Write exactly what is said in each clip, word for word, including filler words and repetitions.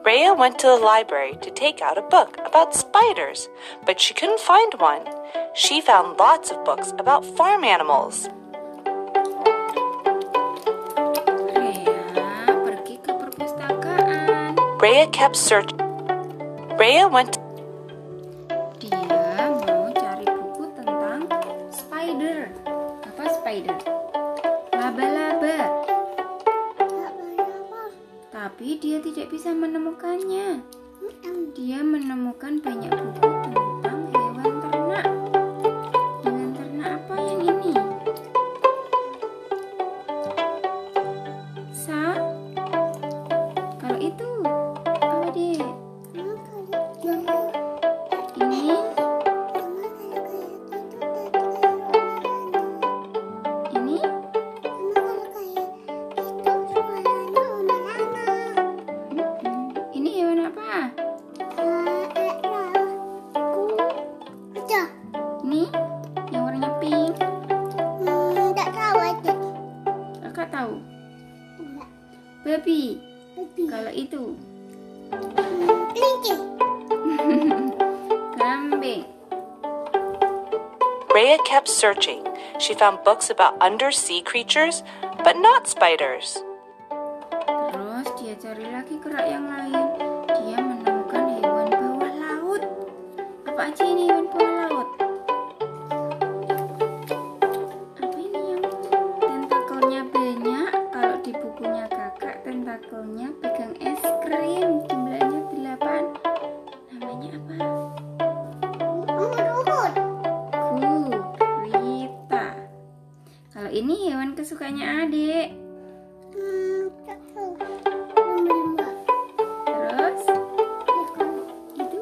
Rhea went to the library to take out a book about spiders, but she couldn't find one. She found lots of books about farm animals. Rhea pergi ke perpustakaan. Rhea kept searching. Rhea went. Dia mau cari buku tentang spider. Apa spider? Laba-laba. Tapi dia tidak bisa menemukannya. Dia menemukan banyak buku tentang hewan ternak. Hewan ternak apa yang ini? Sa? Kalau itu apa deh? Ini? Ini? Ini hewan apa? Ini yang warnanya pink. Kakak tahu? Babi. Kalau itu? Kambing. Rhea kept searching. She found books about undersea creatures, but not spiders. Terus dia cari lagi kerak yang lain. Dia menemukan hewan bawah laut. Apa aja ini hewan bawah laut? Apa ini yang tentakelnya banyak? Kalau di bukunya kakak, tentakelnya pegang es krim. Jumlahnya delapan. Namanya apa? Gurita. Kalau ini hewan kesukaannya adik. Terus itu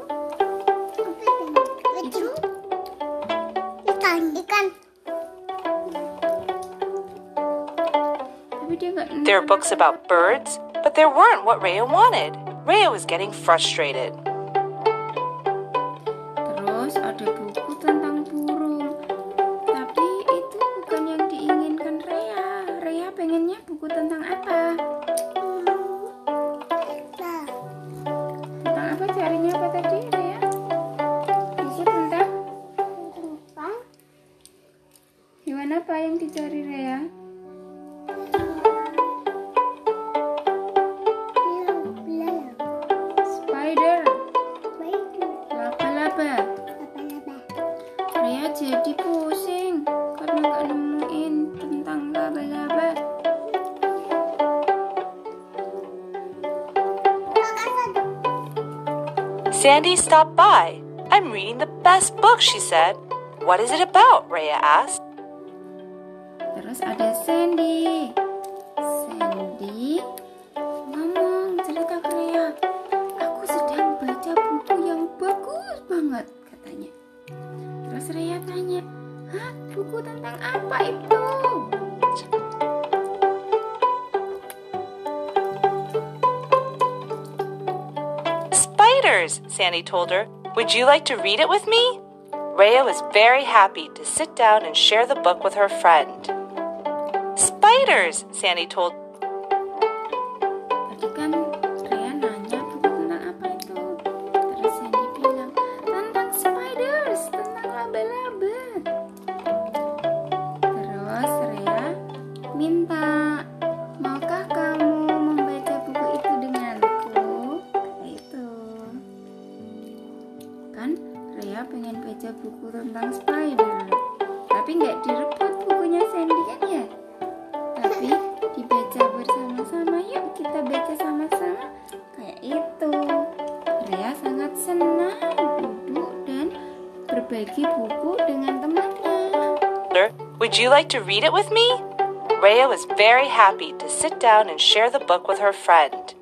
itu Ikan, ikan. tapi dia nggak. There are books about birds, but there weren't what Rhea wanted. Rhea was getting frustrated. Terus ada buku tentang burung, tapi itu bukan yang diinginkan Rhea. Rhea pengennya buku tentang apa? Tentang apa? Carinya apa tadi Rhea? Buku tentang hewan apa yang dicari Rhea? Spider. Laba-laba. Rhea jadi pusing karena nggak nemuin tentang laba-laba. Sandy stopped by. I'm reading the best book, she said. What is it about? Rhea asked. Terus ada Sandy. Sandy ngomong cerita ke Rhea. Aku sedang baca buku yang bagus banget, katanya. Terus Rhea tanya, hah, buku tentang apa itu? Spiders, Sandy told her. Would you like to read it with me? Rhea was very happy to sit down and share the book with her friend. Spiders, Sandy told. Tadi kan Rhea nanya buku tentang apa itu. Terus Sandy bilang, tentang spiders, tentang laba-laba. Terus Rhea minta, maukah kamu membaca buku itu denganku? Kata itu. Kan Rhea pengen baca buku tentang spider, tapi nggak direbut bukunya Sandy kan ya? Tapi dibaca bersama-sama, yuk kita baca sama-sama. Kayak itu. Rhea sangat senang duduk dan berbagi buku dengan temannya. Would you like to read it with me? Rhea was very happy to sit down and share the book with her friend.